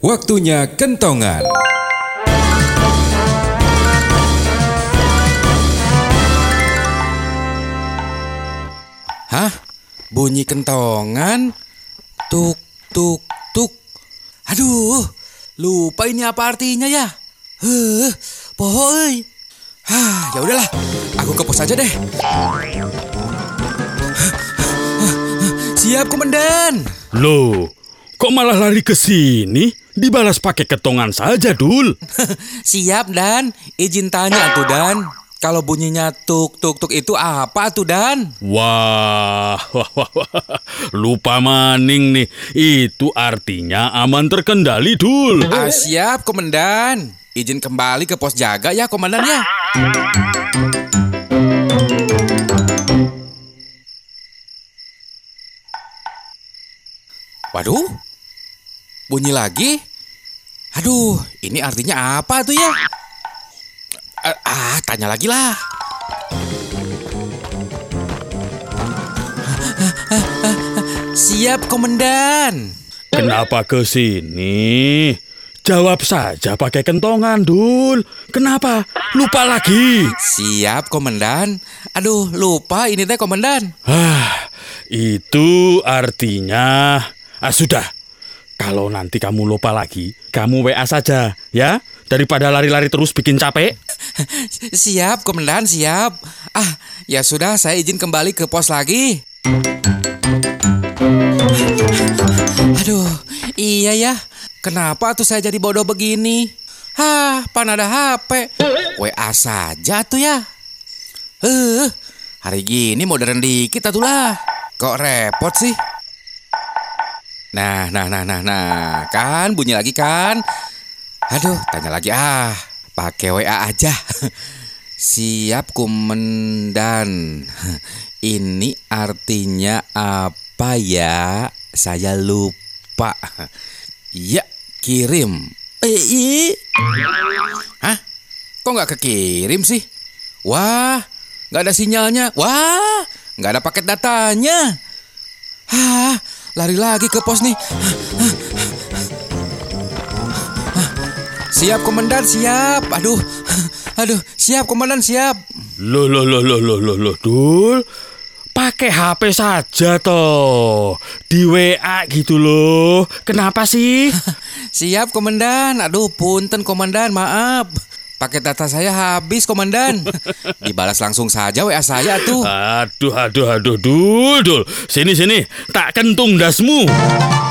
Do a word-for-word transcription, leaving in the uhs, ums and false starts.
Waktunya kentongan. Hah? Bunyi kentongan? Tuk, tuk, tuk. Aduh, lupa ini apa artinya ya? Heh, pohoi. Hah, ya udahlah, aku ke pos aja deh. Siap, Komandan. Loh, kok malah lari ke sini? Dibalas pakai ketongan saja, Dul. Siap, Dan. Izin tanya tuh, Dan. Kalau bunyinya tuk tuk tuk itu apa tuh, Dan? Wah, wah, wah, wah. Lupa maning nih. Itu artinya aman terkendali, Dul. Ah, siap, Komandan. Izin kembali ke pos jaga ya, Komandan ya. Waduh, bunyi lagi. Aduh, ini artinya apa tuh ya? Ah, tanya lagi lah. Siap, Komandan. Kenapa ke sini? Jawab saja pakai kentongan, Dul. Kenapa? Lupa lagi. Siap, Komandan. Aduh, lupa ini teh, Komandan. Ah, itu artinya... Ah, sudah. Kalau nanti kamu lupa lagi, kamu W A saja, ya? Daripada lari-lari terus bikin capek. Siap, Komandan, siap. Ah, ya sudah, saya izin kembali ke pos lagi. Aduh, iya ya. Kenapa tuh saya jadi bodoh begini? Hah, pan ada H P. W A saja tuh ya. Eh, hari gini modern dikit atuh lah. Kok repot sih? Nah, nah, nah, nah, nah. Kan bunyi lagi kan? Aduh, tanya lagi ah. Pakai W A aja. Siap, Komandan. Ini artinya apa ya? Saya lupa. Ya, kirim. Eh, hah? Kok nggak kekirim sih? Wah, nggak ada sinyalnya. Wah, nggak ada paket datanya. Hah, lari lagi ke pos nih. Siap, Komandan, siap. Aduh, aduh, siap, Komandan, siap. Loh, loh, loh, loh, loh, loh, loh, Dul. Pakai H P saja toh. Di W A gitu loh. Kenapa sih? Siap, Komandan. Aduh, punten, Komandan, maaf. Paket data saya habis, Komandan. Dibalas langsung saja W A saya tuh. Aduh, aduh, aduh, Dul, Dul. Sini, sini. Tak kentung dasmu.